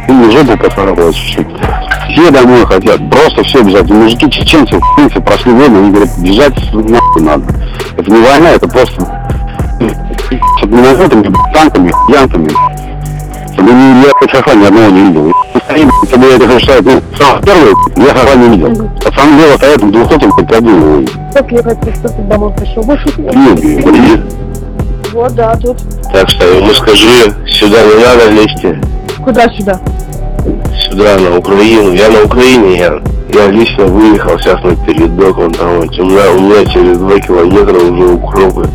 в жопу поцарапалось чуть-чуть. Все домой хотят, просто все бежать. Мужики чеченцы, в принципе, прошли войну, они говорят, бежать нахуй надо. Это не война, это просто с минометами, танками, янками. Я ХХ ни одного не видел. Если я это решаю, самый первый, я ХХ не видел. Пацаны дело стоят в 200-м, Как ехать, что ты домой пришел? Нет. Вот, да, тут. Так что ему скажи, сюда не надо лезьте. Куда сюда? Сюда, на Украину. Я на Украине, я лично выехал сейчас на передок, вон там, у меня через 2 километра уже укропы.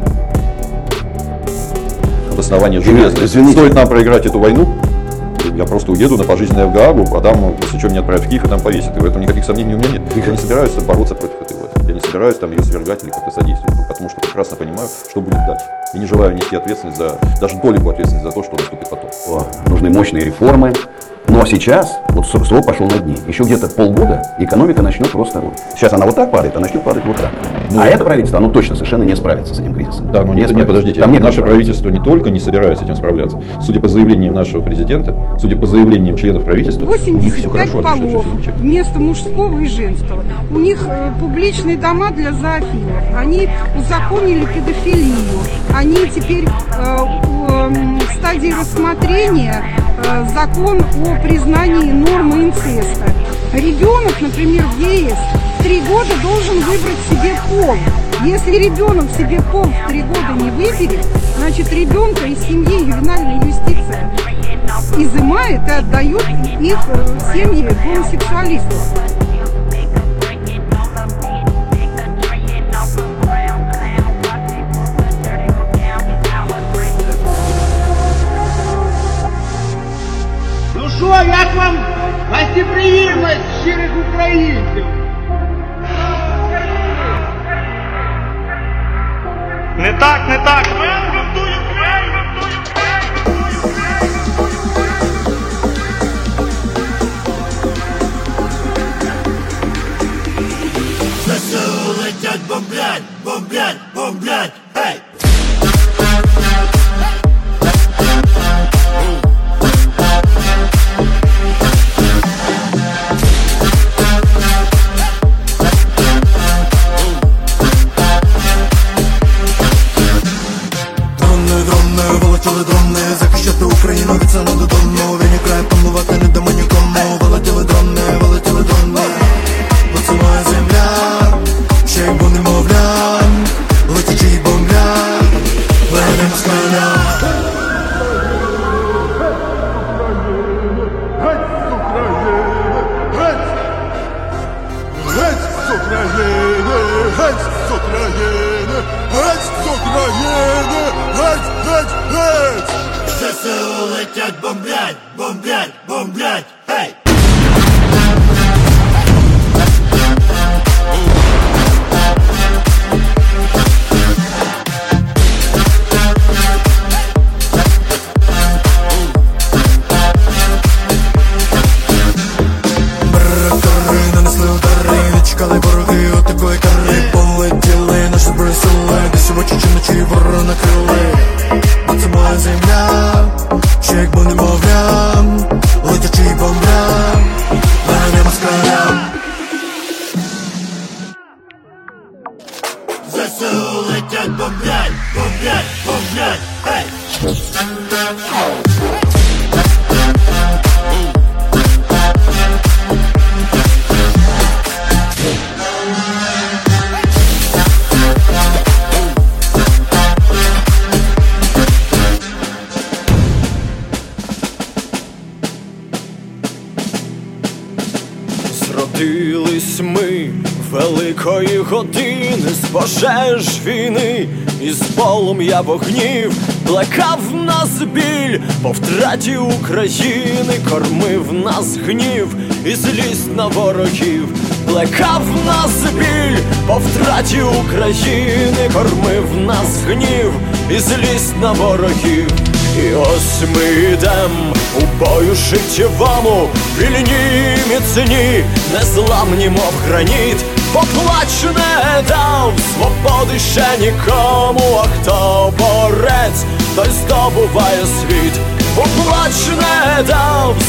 Основание железное. Стоит нам проиграть эту войну, я просто уеду на пожизненное в Гаагу, а там, после чего меня отправят в Киев и там повесят. И в этом никаких сомнений у меня нет. Я не собираюсь бороться против этой власти. Я не собираюсь там ее свергать или как-то содействовать, потому что прекрасно понимаю, что будет дальше. И не желаю нести ответственность даже долю ответственности за то, что наступит потом. Нужны мощные реформы. Но сейчас, вот срок пошел на дни. Еще где-то полгода экономика начнет просто... Сейчас она вот так падает, а начнет падать вот так. А это правительство, оно точно совершенно не справится с этим кризисом. Да, но нет, подождите. Наше правительство не только не собирается с этим справляться. Судя по заявлениям нашего президента, судя по заявлениям членов правительства, 85 полов вместо мужского и женского. У них публичные дома для зоофилов. Они узаконили педофилию. Они теперь в стадии рассмотрения закон о признании нормы инцеста. Ребенок, например, в ЕС в 3 года должен выбрать себе пол. Если ребенок себе пол в 3 года не выберет, значит ребенка из семьи ювенальная юстиция изымает и отдает их в семьи гомосексуалистов. Що, як вам гостеприємність щирих українців? Не так. ЗСУ летять, бомблять, гей! Захищати Україну від села додому. Він край панувати не дамо нікому. Вилетіли дрони. Бо це моя земля, ще й бо немовля. Летячи й бомбля, ведемо з коня. Геть з України, геть з України, геть з України, геть з України, геть! ЗСУ летять, бомблять, гей! Нанесли удари, не чекали вороги от такої кари. Полетіли наші зброї сили, десь в очі чи вночі ворона крили. Бо це моя земля, ще як бо немовля. Летячи й бомбля, ведемо з коня. ЗСУ летять, бомблять, гей! Зродились ми великої години, з пожеж війни, із полум'я вогнів, плекав нас біль по втраті України, кормив нас гнів і злість на ворогів, плекав нас біль по втраті України, кормив нас гнів і злість на ворогів. І ось ми йдем у бою життєвому, вільні, міцні, незламні, мов граніт. Поплач не дав свободи ще нікому, а хто борець, той здобуває світ. Поплач не дав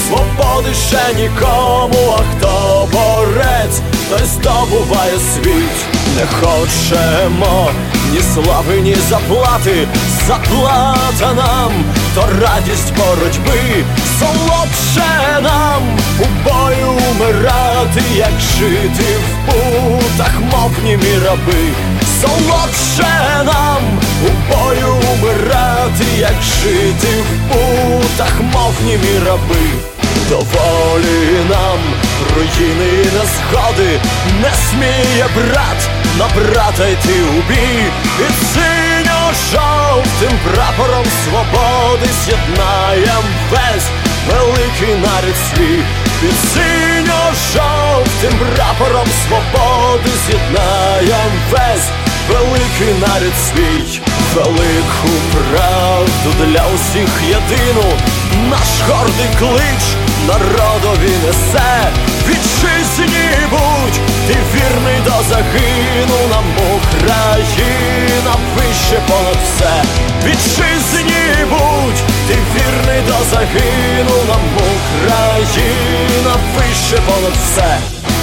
свободи ще нікому, а хто борець, той здобуває світ. Не хочемо ні слави, ні заплати, заплата нам то радість боротьби. Солодше нам у бою умирати, як жити в путах, мов німі раби. Солодше нам у бою умирати, як жити в путах, мов німі раби. Доволі нам руїни і незгоди, не сміє брат на брата йти у бій. Під синьо-жовтим прапором свободи з'єднаєм весь великий нарід свій. Під синьо-жовтим прапором свободи з'єднаєм весь великий нарід свій. Велику правду для усіх єдину наш гордий клич народові несе. Вітчизні будь, ти вірний до загину, нам Україна вище понад все. Вітчизні будь, ти вірний до загину, нам Україна вище понад все.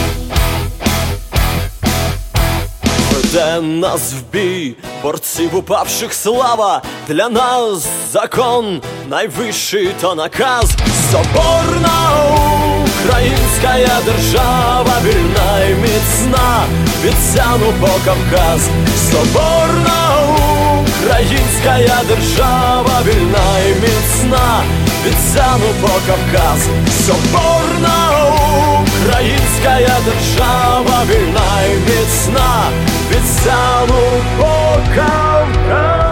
Веде нас в бій, борців упавших слава, для нас закон найвищий то наказ. Соборна українська держава, вільна і міцна, від Сяну по Кавказ. Соборна українська держава, вільна і міцна, від Сяну по Кавказ. Соборна українська держава, вільна і міцна, від Сяну по Кавказ.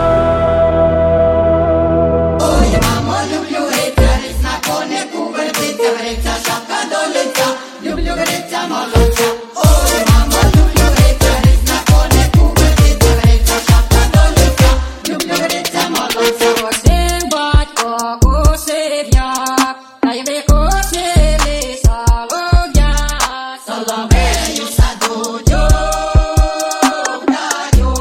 Ой, мамо, люблю гриця, ріс на конику вертиться, гриця, шапка до лиця, люблю гриця молодця. Ой, мамо, люблю гриця, ріс на конику вертиться, гриця, шапка до лиця, люблю гриця молодця. Косив батько, косив я, та й викосили солов'я. Соловею саду дюк,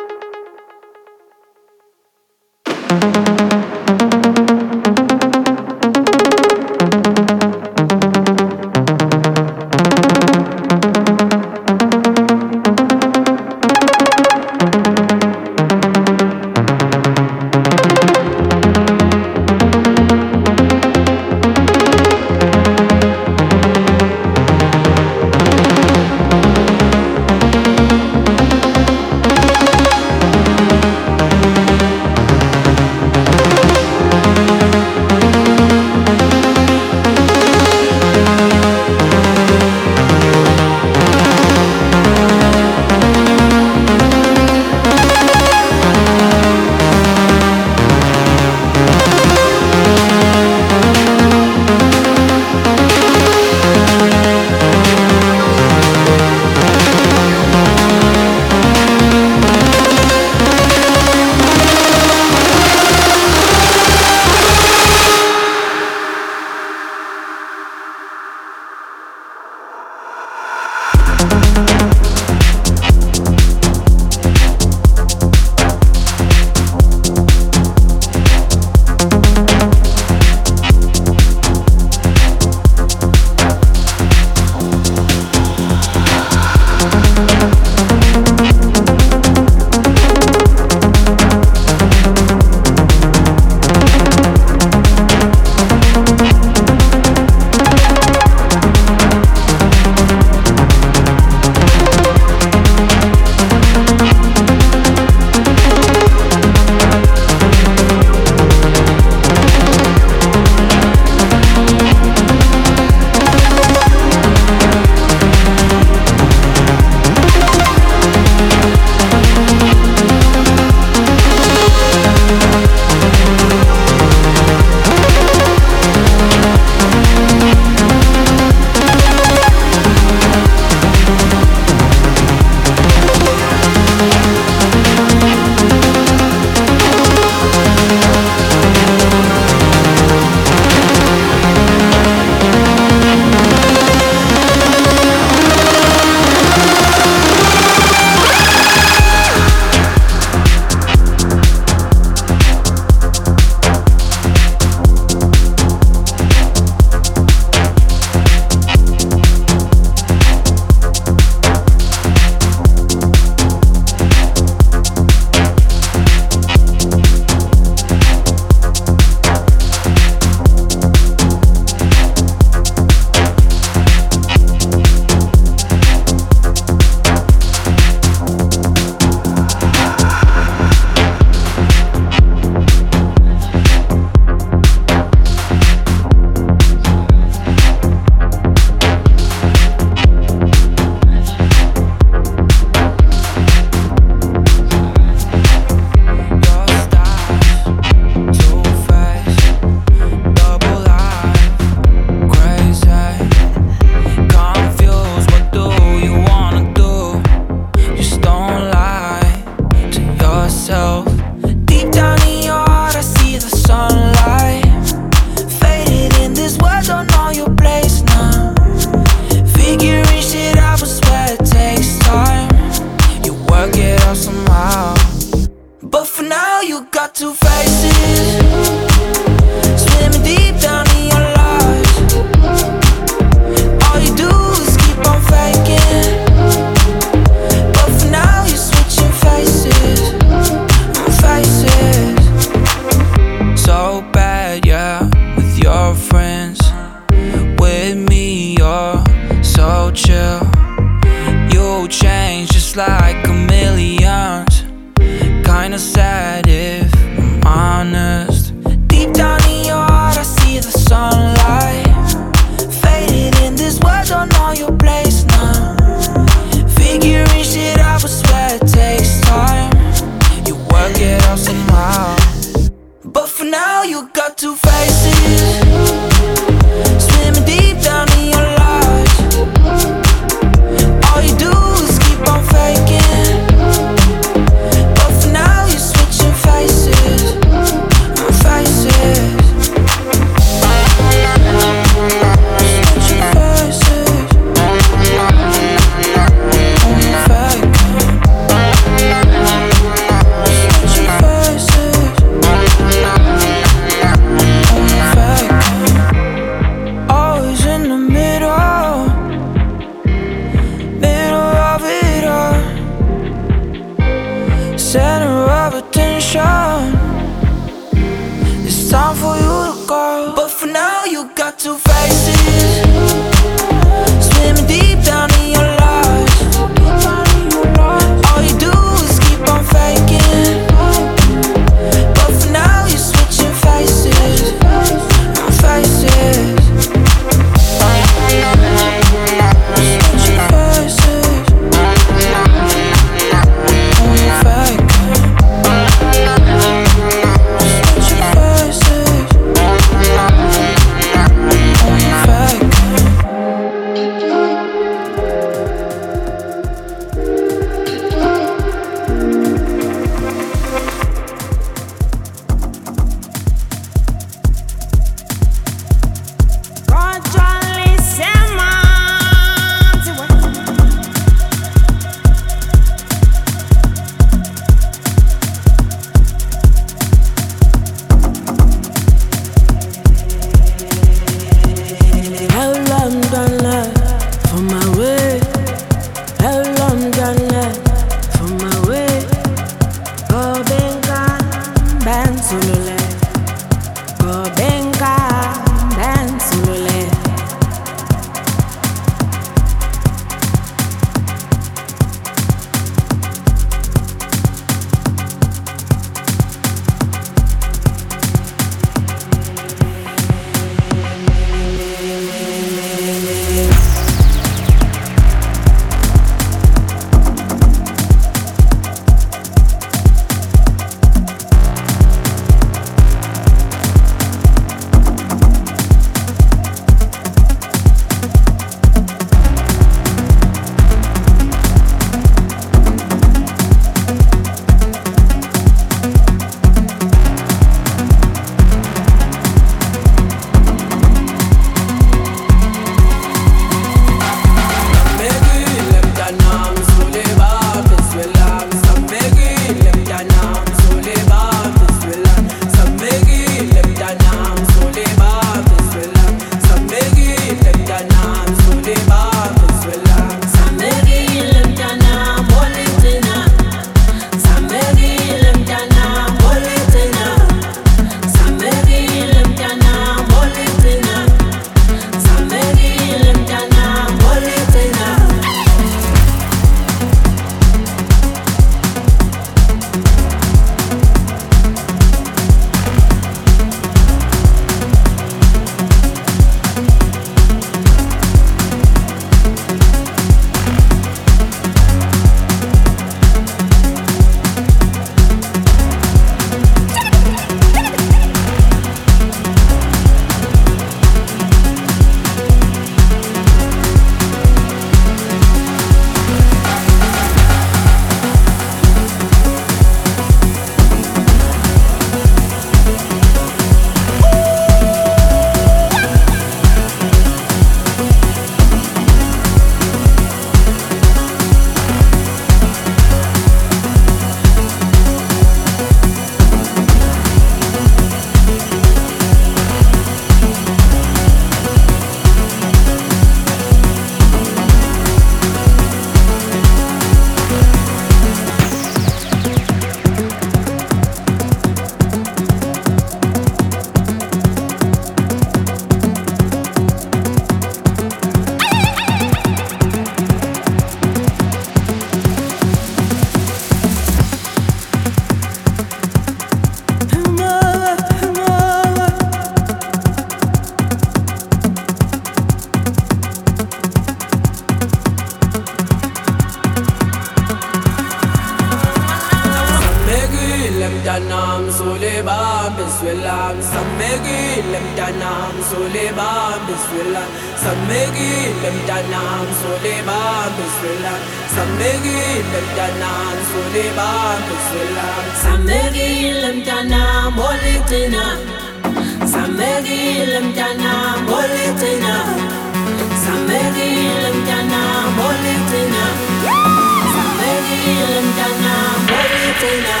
mtanam Suleiman Bismillah Samegile mtanam Suleiman Bismillah Samegile mtanam Suleiman Bismillah Samegile mtanam Walitina Samegile mtanam Walitina Samegile mtanam Walitina Samegile mtanam Walitina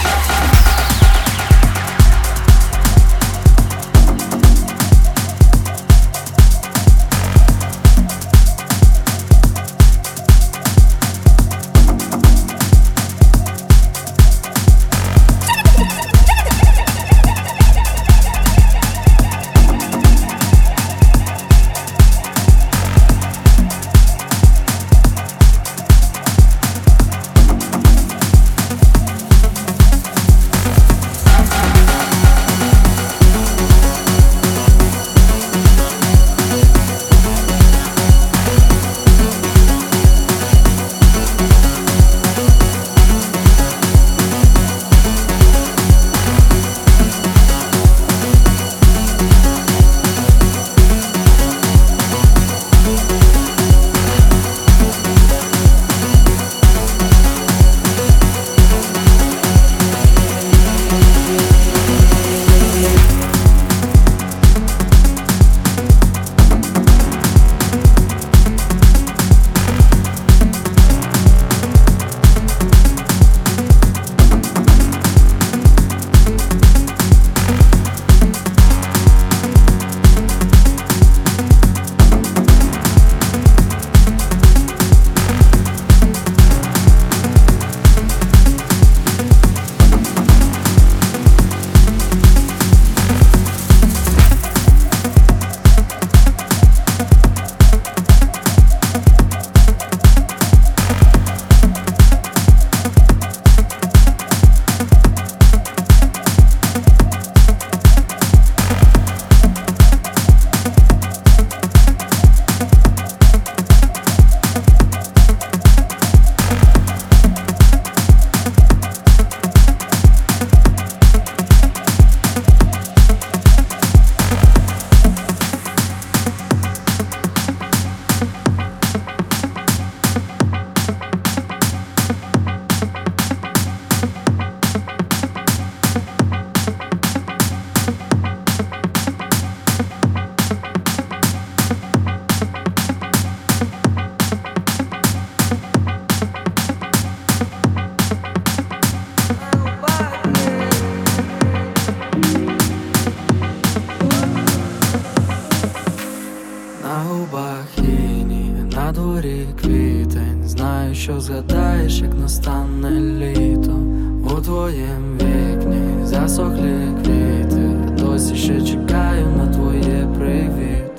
що згадаєш, як настане літо. У твоєм вікні засохлі квіти. Я досі ще чекаю на твоє привіт.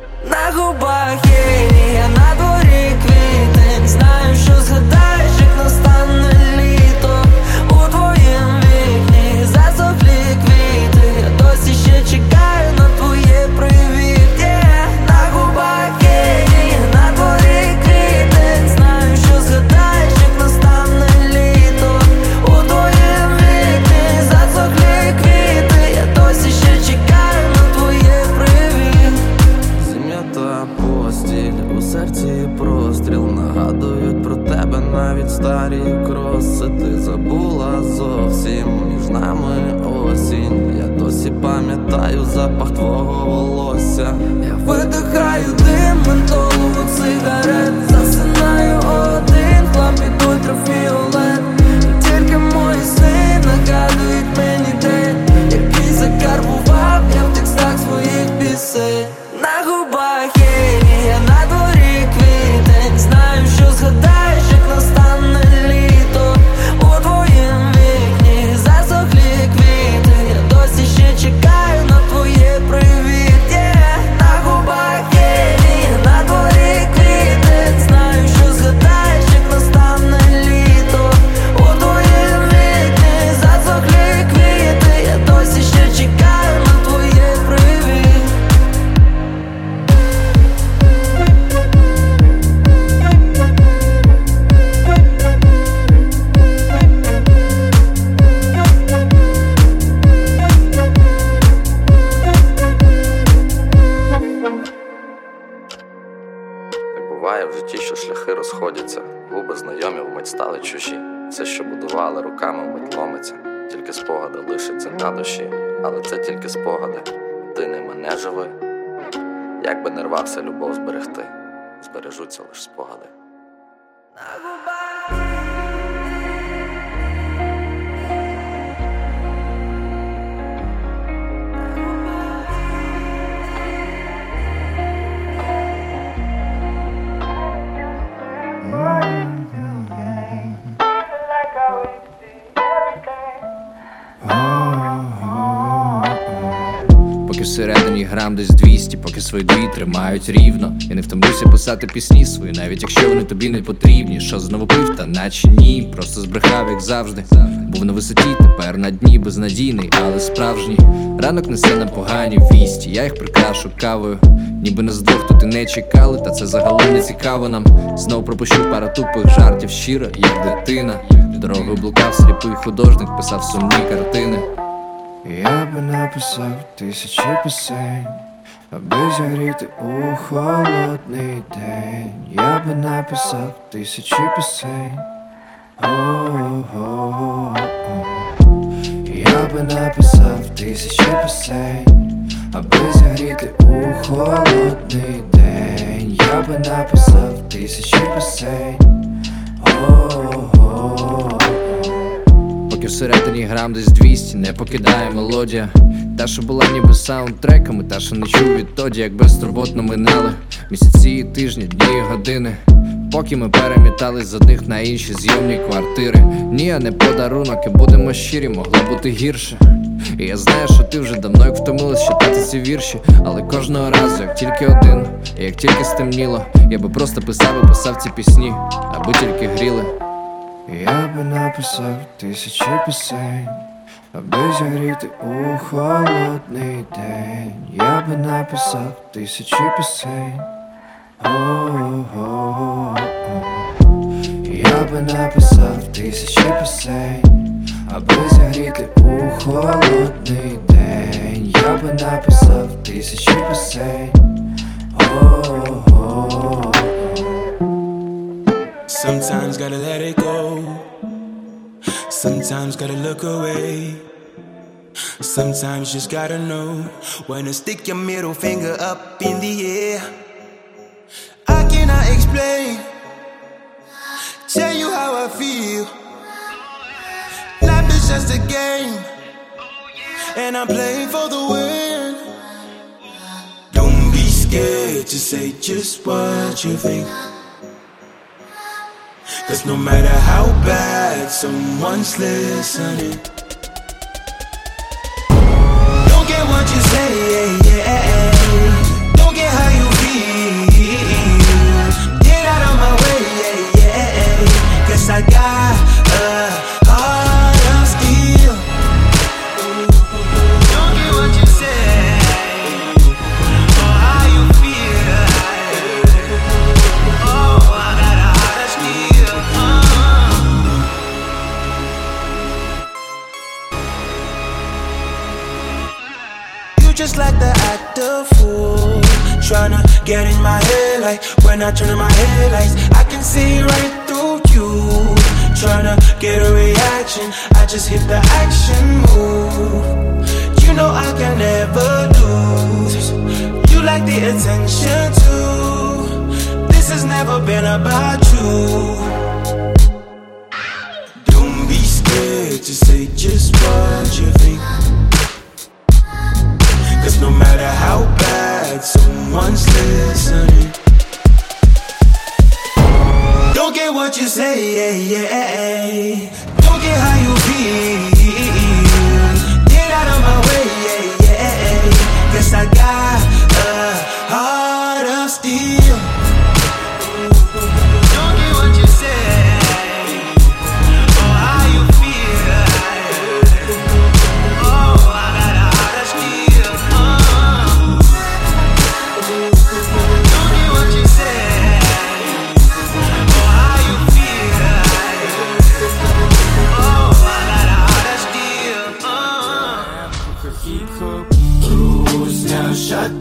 На губах є, на дворі квітень. Знаю, що згадаєш, як настане літо. У твоєм вікні засохлі квіти. Я досі ще чекаю на твоє привіт. На губах є, на дворі квітень. Знаю, що згадаєш, як настане літо. У твоєм вікні засохлі квіти. Я досі ще чекаю на твоє привіт. Зім'ята постіль, у серці простріл. Нагадують про тебе навіть старі кроси. Ти забула зовсім, між нами осінь. Я досі пам'ятаю запах твого волосся. Я видихаю дим ментолу сигарет. Засинаю один, хлопець ультрафіолет. І тільки мої сни нагадують мені день, який закарбував я в текстах своїх пісень. На губах є, на дворі квітень. Знаю, що згадаєш, як настане літо. У твоєм вікні засохлі квіти. Я досі ще чекаю на твоє привіт. На губах є, на дворі квітень. ті, що шляхи розходяться, губи знайомі вмить стали чужі. Все, що будували руками, вмить ломиться. Тільки спогади лишаться на душі. Але це тільки спогади, ти не мене живи. Як би не рвався любов зберегти, збережуться лиш спогади. Поки всередині грам десь 200, поки свої дві тримають рівно. Я не втомлюся писати пісні свої, навіть якщо вони тобі не потрібні. Що знову пив, та наче ні, просто збрехав, як завжди. Був на висоті, тепер на дні, безнадійний, але справжній. Ранок несе нам погані вісті, я їх прикрашу кавою. Ніби нас двох тут і не чекали, та це загалом не цікаво нам. Знов пропущу пару тупих жартів, щиро, як дитина. Дорогою блукав сліпий художник, писав сумні картини. Я би написав 1000 пісень, аби зігріти у холодний день. Я би написав 1000 пісень. Я би написав 1000 пісень, аби зігріти у холодний день. Я би написав 1000 пісень. Поки всередині грам десь 200, не покидає мелодія. Та, що була ніби саундтреками, та, що не чув відтоді, як безтурботно минали місяці і тижні, дні і години. Поки ми перемітались з одних на інші зйомні квартири. Ні, а не подарунок, і будемо щирі, могло бути гірше. І я знаю, що ти вже давно як втомилась читати ці вірші. Але кожного разу, як тільки один, і як тільки стемніло, я би просто писав і писав ці пісні, аби тільки гріли. Я би написав 1000 пісень, аби зігріти у холодний день. Я би написав 1000 пісень. Я би написав 1000 пісень, аби зігріти у холодний день. Я би написав 1000 пісень. Sometimes gotta let it go. Sometimes gotta look away. Sometimes just gotta know when to stick your middle finger up in the air. I cannot explain, tell you how I feel. Life is just a game, and I'm playing for the win. Don't be scared to say just what you think. 'Cause no matter how bad someone's listening, don't get what you say, don't get how you feel. Get out of my way, 'cause I got a heart of steel. Don't get what you say, or how you feel. Oh, I got a heart of steel. Just like the actor fool, tryna get in my head like when I turn on my headlights. I can see right through you, tryna get a reaction. I just hit the action move. You know I can never lose. You like the attention too. This has never been about you. Don't be scared to say just what you think. 'Cause no matter how bad someone's listening, don't get what you say, don't get how you feel. Get out of my way, 'cause I got a heart of steel. Don't get what you say, or how you feel. Oh, I got a heart of steel. Don't get what you say, or how you feel. Oh, I got a heart of steel. Cruise down, shut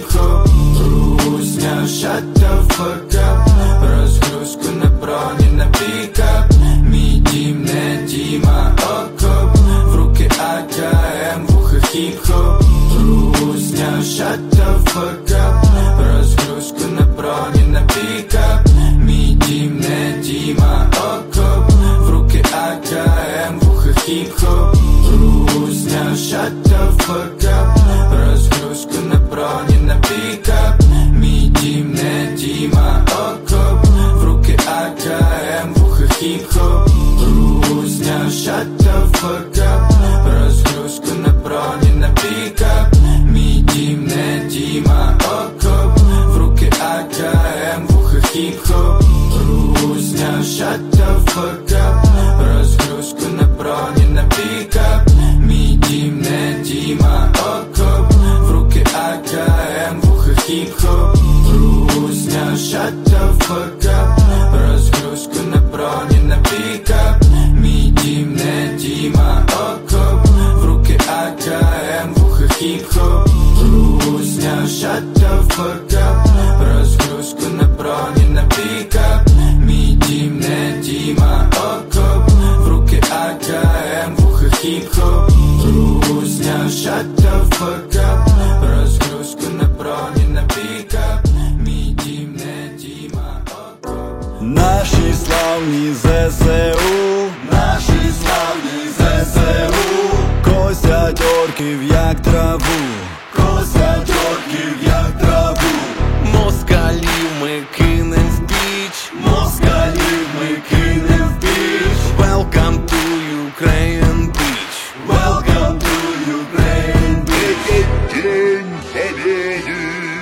хіп-хоп. Русня, shut the fuck up. Розгрузку на броні, на пікап. Мій дім не Діма, окоп. В руки АКМ, вуха хіп-хоп. Русня, shut the fuck up. Розгрузку на броні, на пікап. Мій дім не Діма, окоп. В руки АКМ, вуха хіп-хоп. Русня, shut the fuck up. Розгрузку на броні, на пікап. Мій дім не Діма, окоп. В руки АКМ, вуха хіп-хоп. Русня, shut the fuck up. Розгрузку на броні, на пікап. Мій дім не Діма, окоп. В руки АКМ, вуха хіп-хоп. Русня, shut the fuck up. Розгрузку на броні, на пікап. Мій дім не Діма, окоп. В руки АКМ, вуха хіп-хоп. Русня, shut the fuck up. Розгрузку на броні, на пікап. Мій дім не Діма, окоп. В руки АКМ, вуха хіп-хоп. Русня, shut the fuck up. Розгрузку на броні, на пікап. Мій дім не Діма, окоп. В руки АКМ, вуха хіп-хоп. Русня, shut the fuck up. Розгрузку на броні, на пікап. Мій дім не Діма, окоп. Наші славні ЗСУ, наші славні ЗСУ, косять орків як траву, косять орків як траву. Москалів ми кинем в піч, москалів ми кинем в піч. Welcome to Ukraine Beach, welcome to Ukraine Beach. День Побєди.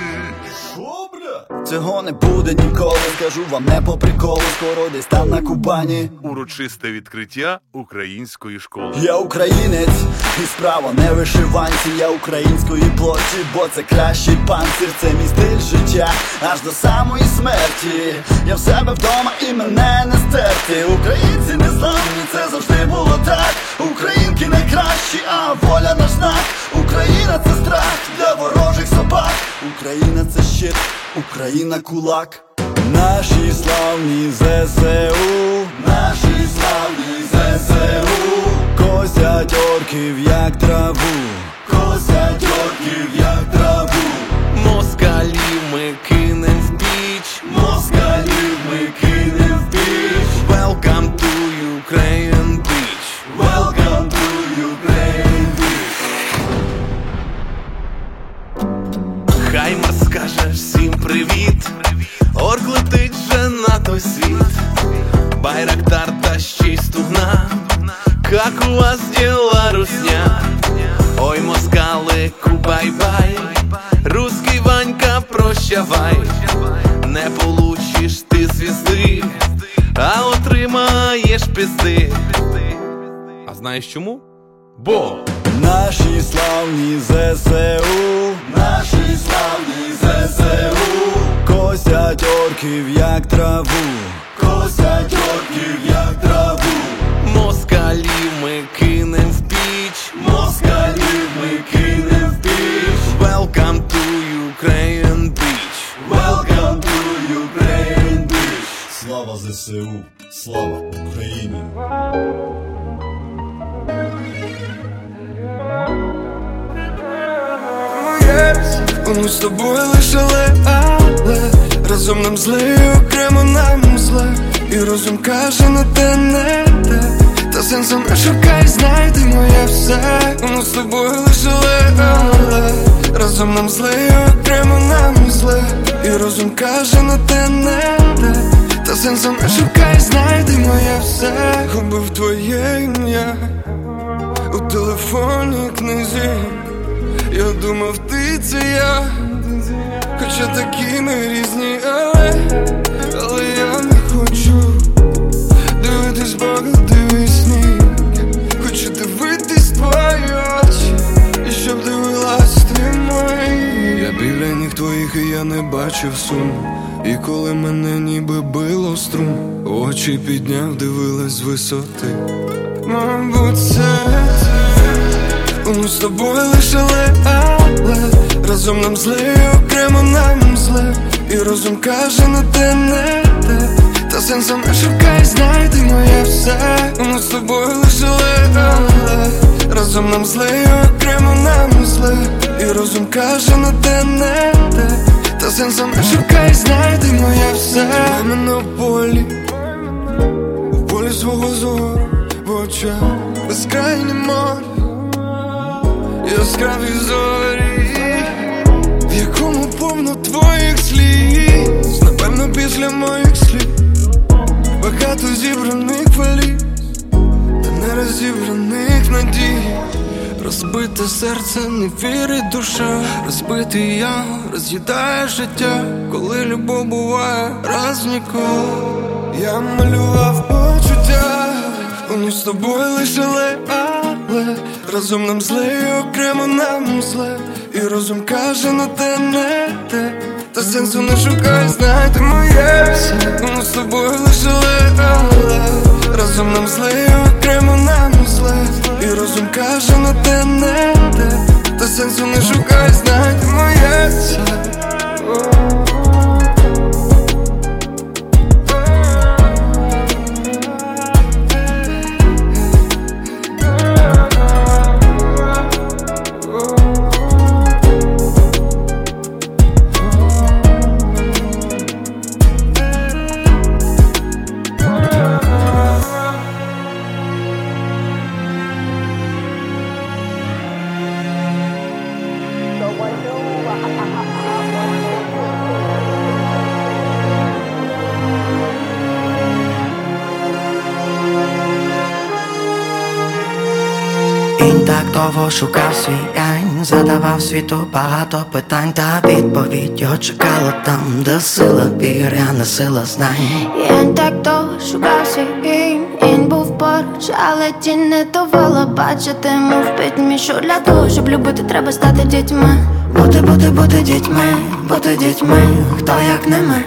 Цього не буде ніколи, скажу вам не по приколу. Скоро десь там на Кубані Урочисте відкриття української школи. я українець, і справа не вишиванці. Я української плоті, бо це кращий панцир. Це мій стиль життя, аж до самої смерті. Я в себе вдома і мене не стерти. Українці не зламні, це завжди було так. Українки найкращі, а воля наш знак. Україна це страх для ворожих собак. Україна це щит, Україна кулак. Наші славні ЗСУ, наші славні ЗСУ, косять орків як траву, косять орків як траву. Москалів ми кинем в піч, москалів ми кинем в піч. Welcome to Ukraine Beach, welcome to Ukraine Beach. Хаймар скаже всім привіт, орк летить вже на той світ. Байрактар та ще й стугна, как у вас дела, русня? Ой, москалику, бай-бай, русский Ванька, прощавай. Не получиш ти звізди, а отримаєш пізди. А знаєш чому? Бо наші славні ЗСУ, наші славні ЗСУ, косять орків як траву, косять орків як траву. Москалів ми кинем в піч, москалів ми кинем в піч. Welcome to Ukraine Beach, welcome to Ukraine Beach. Слава ЗСУ, слава Україні. Ми з тобою лишили, але разом нам зле, і окремо нам зле. І розум каже, на те не те. Та сенсом не шукай, знайди моє все. Ми з тобою лишили, але разом нам зле, і окремо нам зле. І розум каже, на те не те. Та сенсом не шукай, знайди моє все. Губив твоє ім'я у телефонній книзі. Я думав, ти це я, хоча такі ми різні, але я не хочу дивитись багато вісні. Хочу дивитись твої очі, і щоб дивилась ти мої. Я біля ніг твоїх, і я не бачив сум. І коли мене ніби било струм, очі підняв, дивилась з висоти. Мабуть, це ми з тобою лишили, але Разом нам зле, і окремо нам зле. І розум каже, на те не те. Та сенсу не шукай, знай, ти моє все. Ми з тобою лише але. Разом нам зле, і окремо нам зле. І розум каже, на те не те. Та сенсу не шукай, знай, ти моє все. Тримай мене у полі, у полі свого зору, в очах безкрайнє море, яскраві зорі, в якому повно твоїх сліз. Напевно після моїх слів багато зібраних валіз, та не розібраних надій. Розбите серце, не вірить душа. Розбитий я, роз'їдає життя. Коли любов буває раз ніколи. Я малював почуття, вони з тобою лише але. Разом нам зле, і окремо нам зле. І розум каже, на те не те. Та сенсу не шукай, знай, ти моє все. Вони з тобою лише але. Разом нам зле, і окремо нам зле. І розум каже, на те не те. Та сенсу не шукай, знай, ти моє все. Він так довго шукав свій янь, задавав світу багато питань, та відповідь його чекала там, де сила віри, а не сила знань. Він так довго шукав свій янь, він був поруч, але тінь не давала бачити йому в пітьмі, що для того, щоб любити, треба стати дітьми. Бути дітьми, хто як не ми.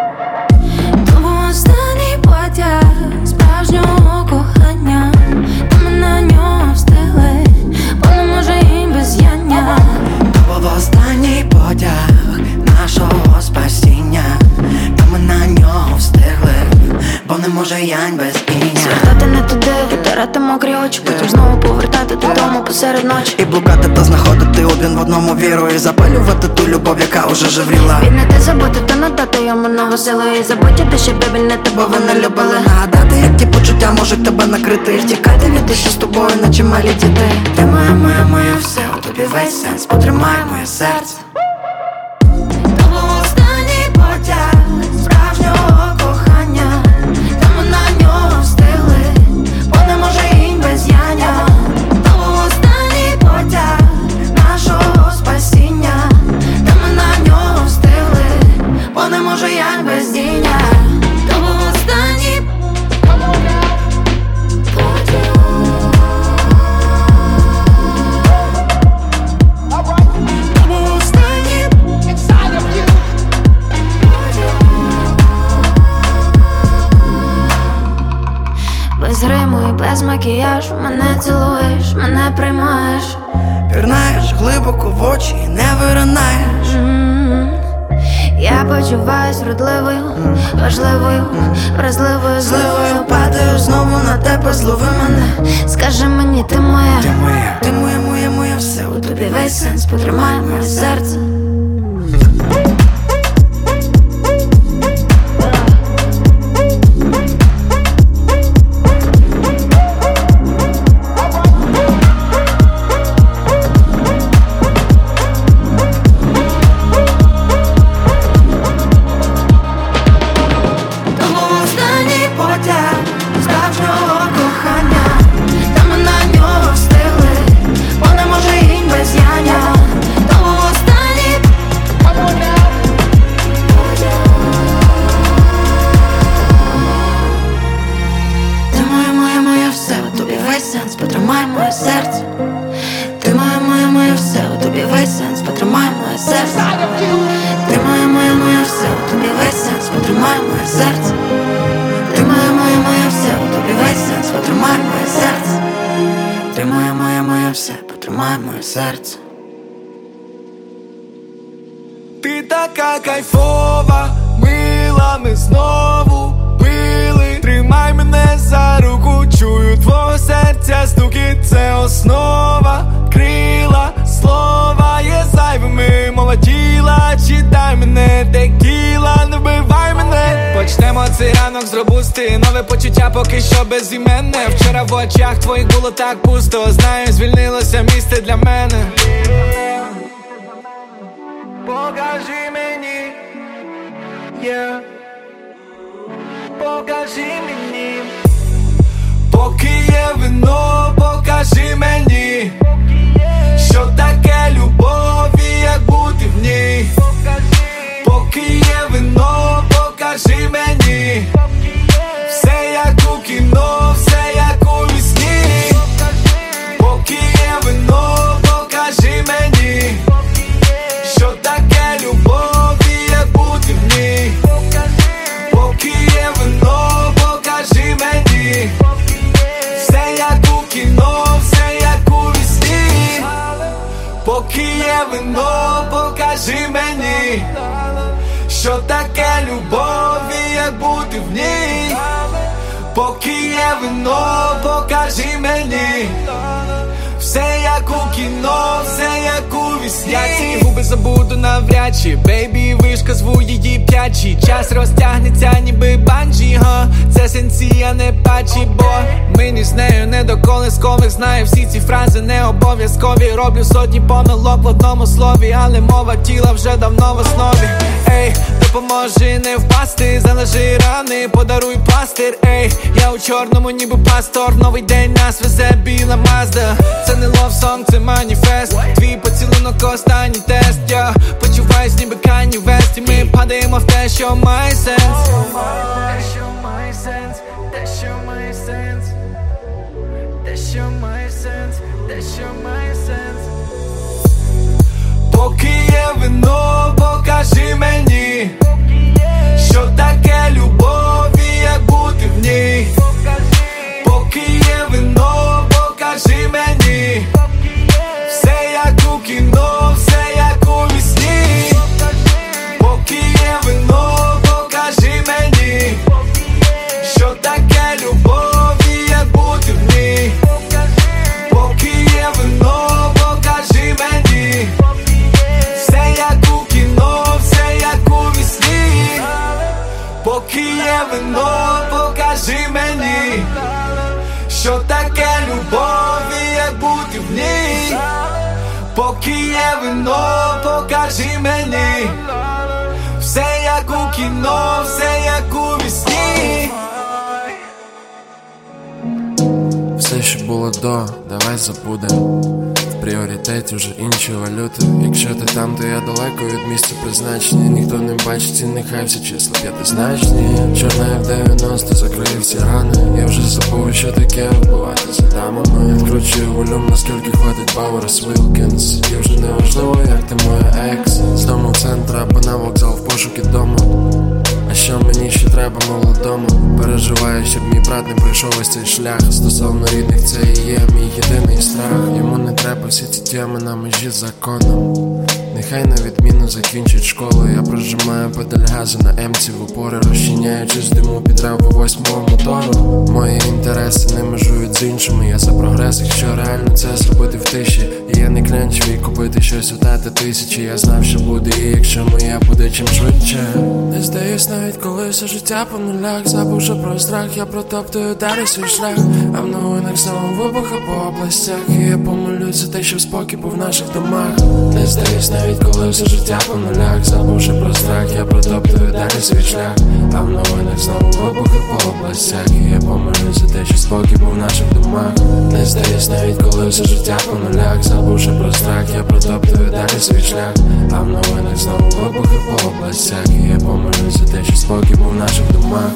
Тому останній потяг справжнього кохання, та ми на нього встигли, бо не може їм без яння. То був останній потяг нашого спасіння, та ми на нього встигли, бо не може янь без іння. Звертати не туди, витирати мокрі очі, потім знову повертати додому посеред ночі. І блукати та знаходити один в одному віру, і запалювати ту любов, яка уже жевріла. Віднати, забути та надати йому нову силу, і забути те, що бебі не тебе, бо ви не любили. Нагадати, як ті почуття можуть тебе накрити, і втікати від тих, що з тобою, наче малі діти. Ти моє все, у тобі весь сенс, потримай моє серце. То був останній потяг справжнього кохання, та ми на нього встигли, бо не може їм без яння. То був останній потяг нашого спасіння, та ми на нього встигли, бо не може янь без діння. То був останній потяг. То був останній без гриму і без макіяжу мене цілуєш, мене приймаєш, пірнаєш глибоко в очі і не виринаєш. Я почуваюсь вродливою, важливою, вразливою, зливою. Падаю знову на тебе, злови мене. Скажи мені, ти моя, ти моє все, у тобі весь сенс, потримай моє серце. Потримай моє серце. Ти моє все, у тобі весь сенс, потримай моє серце. Ти моє все, у тобі весь сенс, потримай моє серце. Ти моє все, у тобі весь сенс, потримай моє серце. Ти моє все, потримай моє серце. така кайфова, мила, ми знову пили. Тримай мене за руку, чую твого серця стукіт. Це основа, крила, слова є зайвими. Мова тіла, читай мене, текіла, не вбивай мене. Почнемо цей ранок з робусти, нове почуття поки що безіменне. Вчора в очах твоїх було так пусто, знаю, звільнилося місце для мене. Покажи мені, yeah. Покажи мені. Поки є вино, покажи мені, що таке любов і як бути в ній. Поки є вино, покажи мені, все як у кіно, все як у вісні. Поки є вино, покажи мені, що таке любов і як бути в ній. Поки є вино, покажи мені, все як у кіно, все як у вісні. Поки є вино, покажи мені, що таке любов і як бути в ній. Поки є вино, покажи мені, все як у кіно, все як у вісні. Я ці губи забуду навряд чи, бейбі, вишка, зву її п'ячі. Час розтягнеться ніби банджі, це сенсі, а не патчі, бо мені з нею не до колискових. Знаю всі ці фрази не обов'язкові. Роблю сотні помилок в одному слові, але мова тіла вже давно в основі. Ей, допоможи не впасти, залежи рани, подаруй пластир. Ей, я у чорному ніби пастор, новий день нас везе біла Мазда. Це не лов-сонг, це маніфест, твій поцілунок останній тест. Я почуваюсь ніби Кані Вест, і ми падаємо в те, що має сенс. Те, що має сенс, те, що має сенс, те, що має сенс, те, що має сенс. Поки є вино, покажи мені, що таке любов і як бути в ній. Поки є вино, покажи мені, все як у кіно, все як у вісні. Поки є вино, покажи мені, що таке любов і як бути в ній. Поки є вино, покажи мені, все як у кіно, все як у вісні. Поки є вино, покажи мені, що таке любов і як бути в ній. Поки є вино, покажи мені, все як у кіно, все як у вісні. Все, що було до, давай забудем. В пріоритеті вже інші валюти. Якщо ти там, то я далеко від місця призначення. Ніхто не бачить і нехай всі числа п'ятизначні. Чорна F90 закриє всі рани. Я вже забув, що таке вбивати за дамами. Відкручую волюм, наскільки хватить Бауерс Вілкінс. І вже не важливо, як ти моя екс. З дому в центр або на вокзал в пошуки дому. А що мені ще треба молодому? Переживаю, щоб мій брат не пройшов ось цей шлях. Стосовно рідних, це і є мій єдиний страх. Йому не треба всі ці теми на межі з законом. Нехай на відміну закінчить школу. Я прожимаю педаль газу на емці в упори, розчиняючись диму під рев по 8-му мотору. Мої інтереси не межують з іншими. Я за прогрес, якщо реально це зробити в тиші. І я не клянчив і купити щось у тата тисячі. Я знав, що буде, і якщо моя буде чим швидше. Не здаюсь навіть коли все життя по нулях. Забувши про страх, я протоптую далі свій шлях. А в новинах знову вибухи по областях. І я помилюсь за те, щоб спокій був в наших домах. Не здаюсь навіть коли все життя по нулях. Забувши про страх, я протоптую далі свій шлях. А в новинах знову вибухи по областях. І я помилюсь за те, щоб спокій був в наших домах. Не здаюсь навіть коли все життя по нулях. Забувши про страх, я протоптую далі свій шлях. А в новинах знову вибухи по областях. І я помилюсь за те, щоб спокій був в наших домах.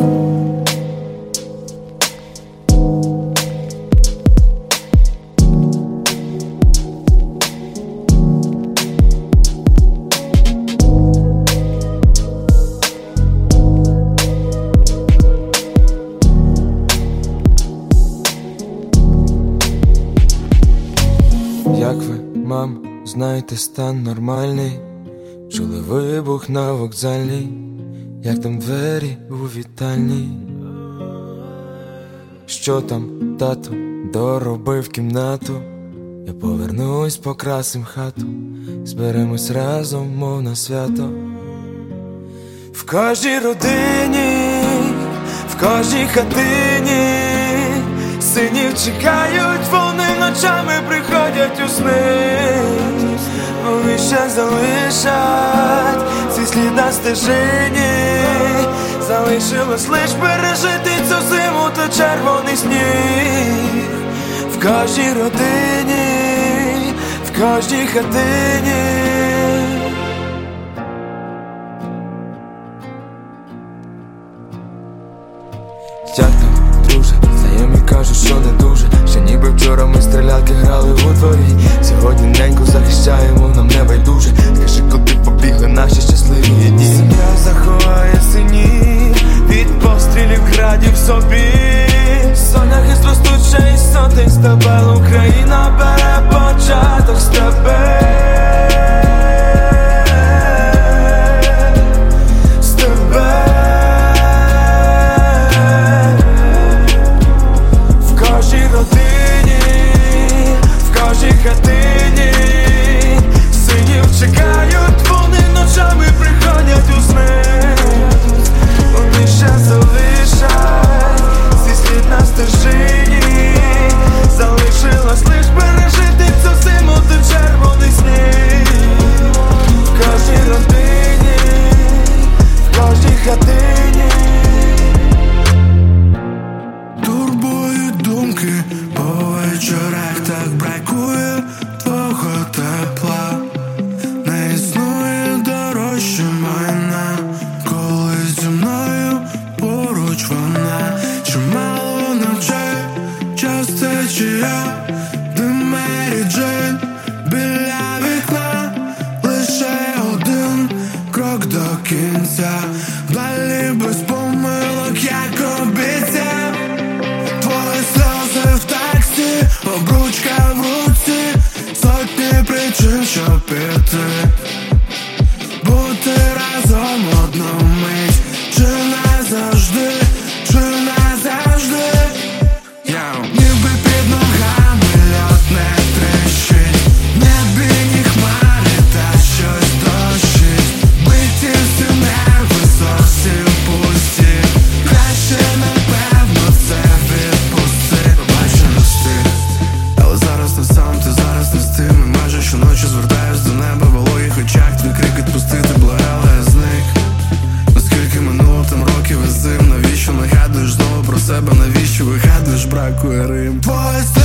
Як ви, мам, знаєте, стан нормальний? чули вибух на вокзальній, як там двері у вітальні. Що там, тату, доробив кімнату? Я повернусь, покрасим хату, зберемось разом, мов на свято. В кожній родині, в кожній хатині синів чекають, вони ночами приходять у сни. Вони ще залишать свій слід на стежині. Залишилось лиш пережити цю зиму та червоний сніг. В кожній родині, в кожній хатині. Як там, друже, знайомі кажуть, що не дуже. Ще ніби вчора ми стрілялки грали у дворі. Сьогодні неньку захищаємо, нам не байдуже. Скажи, куди побігли наші щасливі дні. Сім'я заховає синів від пострілів, градів собі. Соняхи ростуть ще із сотень стебел. Україна бере початок з тебе. Хатині синів чекають, вони ночами приходять у сни. Вони ще залишать свій слід на стежині. Залишилось лиш пережити цю зиму та червоний сніг. В кожній родині, в кожній хатині. Турбують думки по вечорах, так бракує твого тепла. Не існує дорожче майна, коли зі мною поруч вона. Чимало ночей, час течія, дим Мері Джейн біля вікна. Лише один крок до кінця, далі без помилок, як обіцяв. Твої сльози в таксі, обручка в руці, сотні причин, щоб піти. Бути разом одну мить, чи назавжди, чи назавжди. Ніби під ногами льод не тріщить, в небі ні хмари, та щось дощить. Биті всі нерви зовсім пусті, краще напевно це відпусти. Бачу не встиг, але зараз не сам, ти зараз не з тим. І майже щоночі звертаюсь до неба, в вологих очах твій крик відпустити, благала, я зник. Наскільки минуло там років і зим, навіщо нагадуєш знову про себе, навіщо вигадуєш, бракує рим. Твої